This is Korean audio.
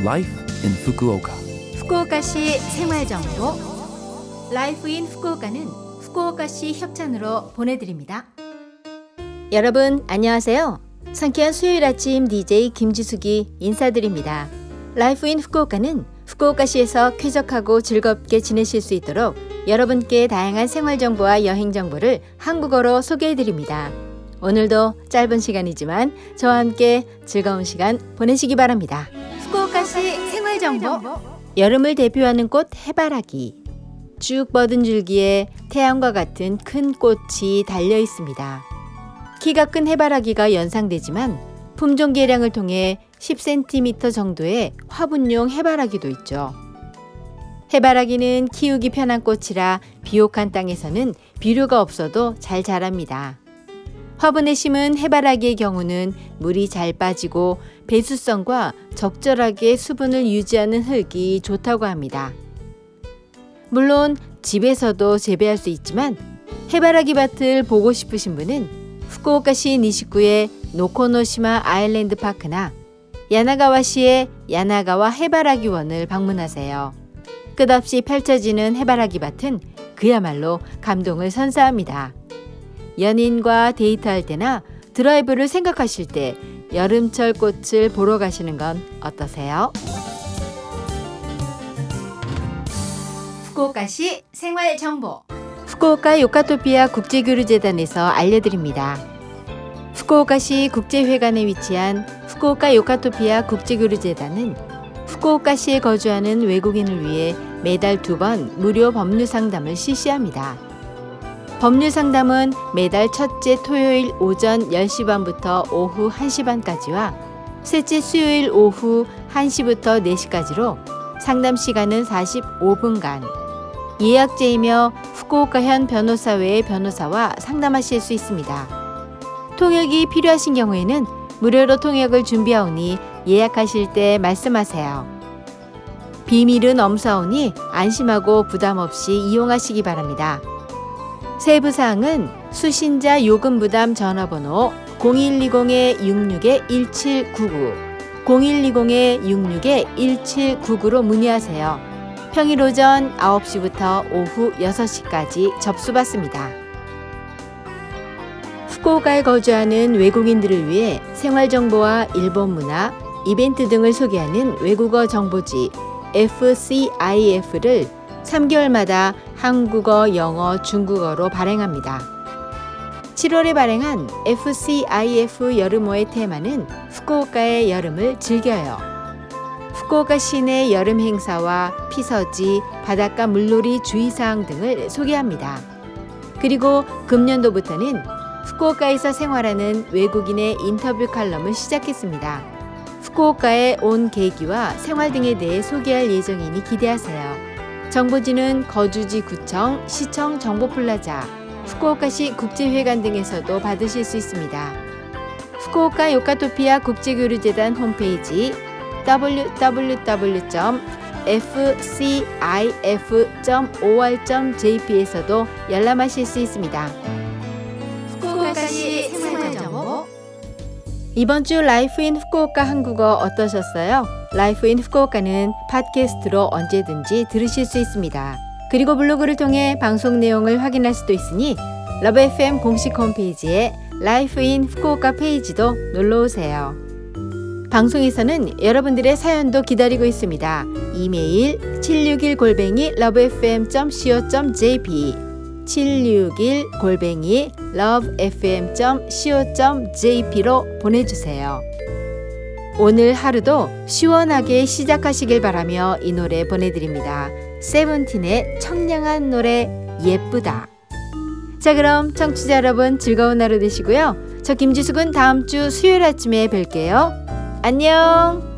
Life in Fukuoka. 후쿠오카시 생활정보 라이프 인 후쿠오카는 후쿠오카시 협찬으로 보내드립니다. 여러분 안녕하세요. 상쾌한 수요일 아침 DJ 김지숙이 인사드립니다. 라이프 인 후쿠오카는 후쿠오카시에서 쾌적하고 즐겁게 지내실 수 있도록 여러분께 다양한 생활정보와 여행정보를 한국어로 소개해드립니다. 오늘도 짧은 시간이지만 저와 함께 즐거운 시간 보내시기 바랍니다. 후쿠오카시 생활정보 여름을 대표하는 꽃 해바라기. 쭉 뻗은 줄기에 태양과 같은 큰 꽃이 달려 있습니다. 키가 큰 해바라기가 연상되지만 품종 개량을 통해 10cm 정도의 화분용 해바라기도 있죠. 해바라기는 키우기 편한 꽃이라 비옥한 땅에서는 비료가 없어도 잘 자랍니다. 화분에 심은 해바라기의 경우는 물이 잘 빠지고 배수성과 적절하게 수분을 유지하는 흙이 좋다고 합니다. 물론 집에서도 재배할 수 있지만 해바라기 밭을 보고 싶으신 분은 후쿠오카시 니시쿠의 노코노시마 아일랜드 파크나 야나가와시의 야나가와 해바라기원을 방문하세요. 끝없이 펼쳐지는 해바라기 밭은 그야말로 감동을 선사합니다. 연인과 데이트할 때나 드라이브를 생각하실 때 여름철 꽃을 보러 가시는 건 어떠세요? 후쿠오카시 생활정보 후쿠오카 요카토피아 국제교류재단에서 알려드립니다. 후쿠오카시 국제회관에 위치한 후쿠오카 요카토피아 국제교류재단은 후쿠오카시에 거주하는 외국인을 위해 매달 2번 무료 법률 상담을 실시합니다. 법률 상담은 매달 첫째 토요일 오전 10시 반부터 오후 1시 반까지와 셋째 수요일 오후 1시부터 4시까지로 상담 시간은 45분간 예약제이며 후쿠오카현 변호사 외의 변호사와 상담하실 수 있습니다. 통역이 필요하신 경우에는 무료로 통역을 준비하오니 예약하실 때 말씀하세요. 비밀은 엄사오니 안심하고 부담 없이 이용하시기 바랍니다. 세부사항은 수신자 요금부담 전화번호 0120-66-1799, 0120-66-1799로 문의하세요. 평일 오전 9시부터 오후 6시까지 접수받습니다. 후쿠오카에 거주하는 외국인들을 위해 생활정보와 일본 문화, 이벤트 등을 소개하는 외국어 정보지 FCIF를 3개월마다 한국어, 영어, 중국어로 발행합니다. 7월에 발행한 FCIF 여름호의 테마는 후쿠오카의 여름을 즐겨요. 후쿠오카 시내 여름 행사와 피서지, 바닷가 물놀이 주의사항 등을 소개합니다. 그리고 금년도부터는 후쿠오카에서 생활하는 외국인의 인터뷰 칼럼을 시작했습니다. 후쿠오카에 온 계기와 생활 등에 대해 소개할 예정이니 기대하세요. 정보지는 거주지 구청, 시청 정보플라자, 후쿠오카시 국제회관 등에서도 받으실 수 있습니다. 후쿠오카 요카토피아 국제교류재단 홈페이지 www.fcif.or.jp에서도 열람하실 수 있습니다. 후쿠오카시 생활정보 이번 주 라이프 인 후쿠오카 한국어 어떠셨어요? 라이프 인 후쿠오카는 팟캐스트로 언제든지 들으실 수 있습니다. 그리고 블로그를 통해 방송 내용을 확인할 수도 있으니 러브 FM 공식 홈페이지에 라이프 인 후쿠오카 페이지도 놀러오세요. 방송에서는 여러분들의 사연도 기다리고 있습니다. 이메일 761@lovefm.co.jp 761@lovefm.co.jp로 보내주세요. 오늘 하루도 시원하게 시작하시길 바라며 이 노래 보내드립니다. 세븐틴의 청량한 노래 예쁘다. 자, 그럼 청취자 여러분 즐거운 하루 되시고요. 저 김지숙은 다음 주 수요일 아침에 뵐게요. 안녕.